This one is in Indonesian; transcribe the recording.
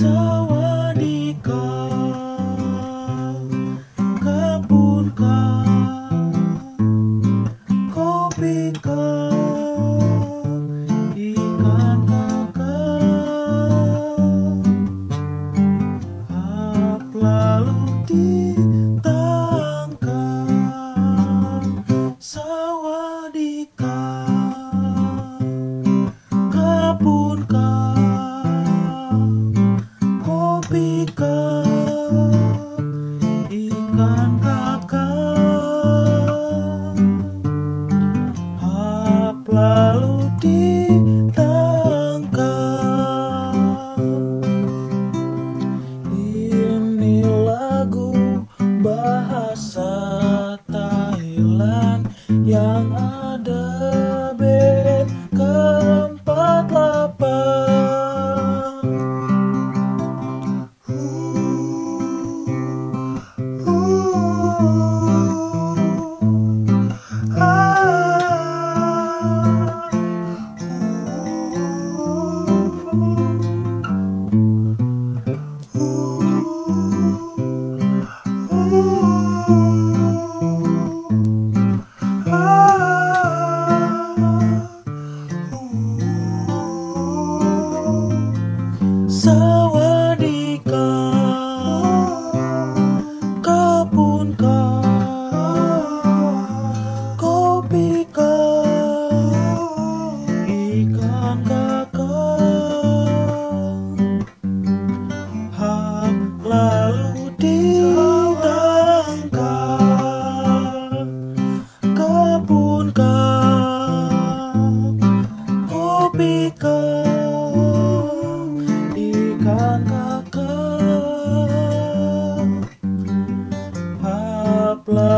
Sawadika, kebunka, kopika, ikan kakap, hap lalu ditangkap. Sawadika, kebunka, kopika, ikan kakap, hap lalu ditangkap. Ini lagu bahasa Thailand yang ada BN ke-48. Sawadika, kebunka, kopika, ikan kakap, hap lalu ditangkap. Kebunka, kopika, ikan kakap, hap lalu